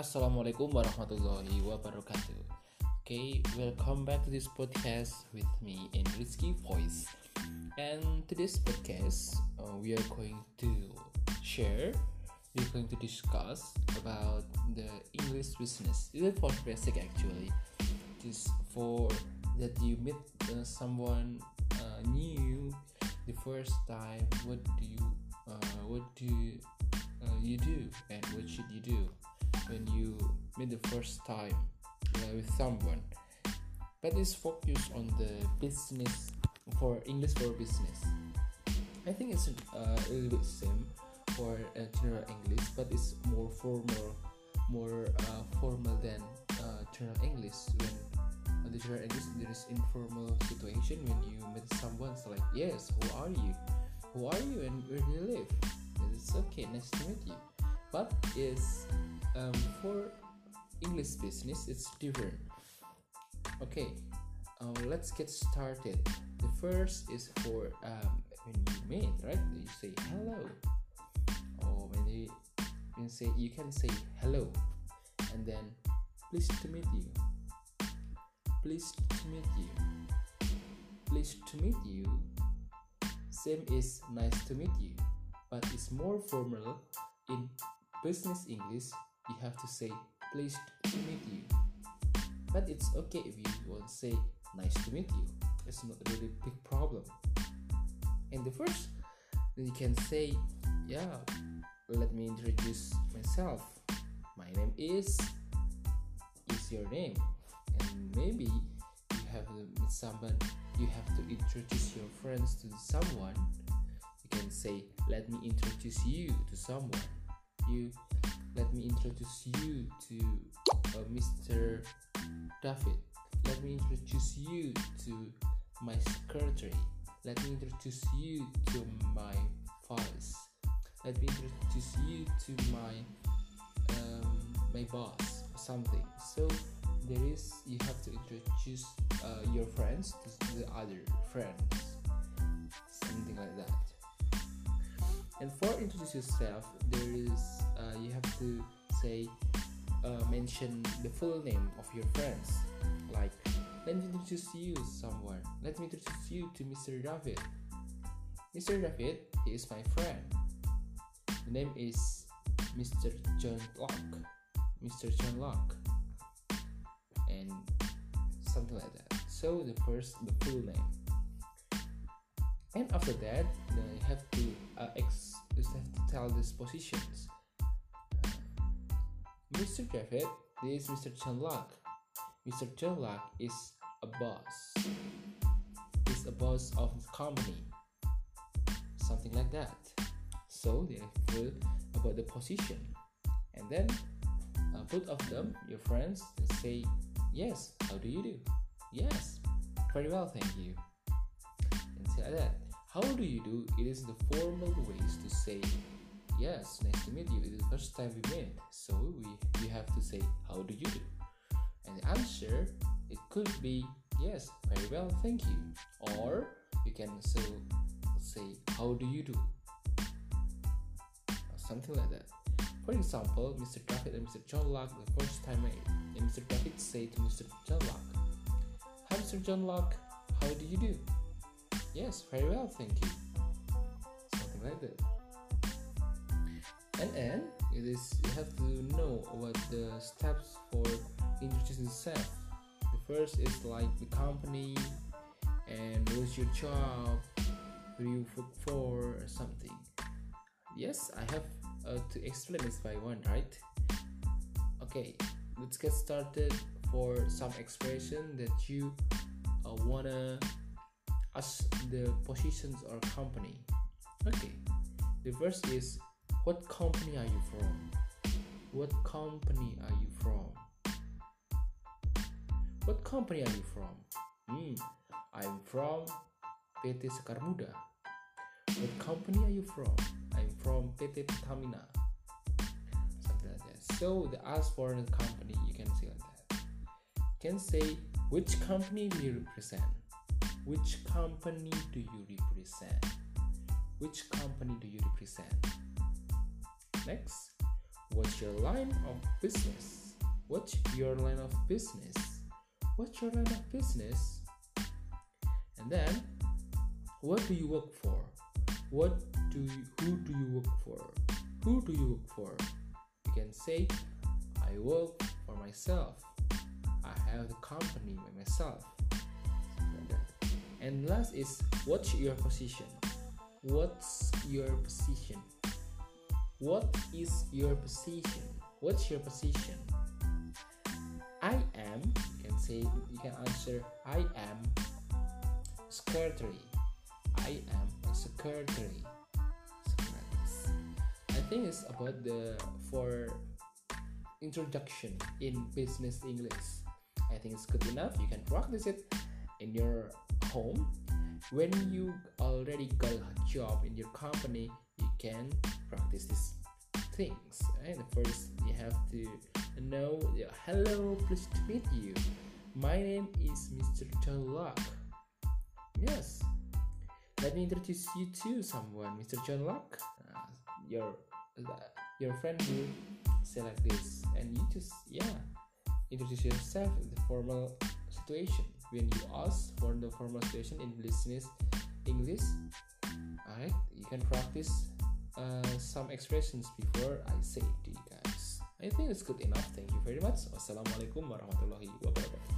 Assalamualaikum warahmatullahi wabarakatuh. Okay, welcome back to this podcast with me in Rizky Voice. And today's podcast, we are going to discuss about the English business. This is for basic actually. Just for that you meet someone new the first time. What do you do, and what should you do when you meet the first time with someone? But it's focused on the business for English for business. I think it's a little bit same for general English, but it's more formal than general English. When the general English, there is informal situation when you meet someone. So like, yes, who are you, and where do you live? It's okay, nice to meet you. But is for English business, it's different. Okay, let's get started. The first is for when you meet, right? You say hello, or when you can say hello, and then pleased to meet you. Same is nice to meet you, but it's more formal. In business English, you have to say pleased to meet you. But it's okay if you won't say nice to meet you. It's not really a big problem. And the first, then you can say, yeah, let me introduce myself. My name is your name. And maybe you have to meet someone, you have to introduce your friends to someone. You can say, let me introduce you to someone. Let me introduce you to Mr. David. Let me introduce you to my secretary. Let me introduce you to my vice. Let me introduce you to my boss or something. So you have to introduce your friends to the other friends, something like that. And for introduce yourself, you have to say mention the full name of your friends. Like, let me introduce you to someone. Let me introduce you to Mr. David. Mr. David, he is my friend. The name is Mr. John Locke, and something like that. So the full name. And after that, you have to tell these positions. Mr. David, this is Mr. John Locke. Mr. John Locke is a boss. He's a boss of the company. Something like that. So they feel about the position. And then both of them, your friends, say, yes, how do you do? Yes, very well, thank you. And say like that. How do you do? It is the formal ways to say, yes, nice to meet you. It is the first time we met. So you have to say, how do you do? And the answer, it could be, yes, very well, thank you. Or you can also say, how do you do? Or something like that. For example, Mr. David and Mr. John Locke the first time met. And Mr. David say to Mr. John Locke, hi Mr. John Locke, how do you do? Yes, very well, thank you. Something like that. And then you have to know what the steps for introducing yourself. The first is like the company and what's your job, who do you work for, or something. Yes, I have to explain this by one, right? Okay, let's get started for some expression that you wanna ask the positions or company. Okay, the first is, what company are you from? What company are you from? What company are you from? I'm from PT Sekar Muda. What company are you from? I'm from PT Pertamina. Something like that. So the ask for the company, you can say like that. You can say, which company do you represent? Which company do you represent? Which company do you represent? Next, What's your line of business? What's your line of business? What's your line of business? And then, what do you work for? Who do you work for? Who do you work for? You can say, I work for myself. I have the company by myself. And last is, what's your position? What's your position? What is your position? What's your position? I am, you can answer, I am secretary. I am a secretary. I think it's about for introduction in business English. I think it's good enough. You can practice it in your home. When you already got a job in your company, you can practice these things. Right? First, you have to know, hello, pleased to meet you. My name is Mr. John Locke. Yes. Let me introduce you to someone, Mr. John Locke. Your friend will say like this, and you just introduce yourself in the formal situation. When you ask for the formal situation in business English, alright, you can practice some expressions before I say it to you guys. I think it's good enough. Thank you very much. Wassalamualaikum warahmatullahi wabarakatuh.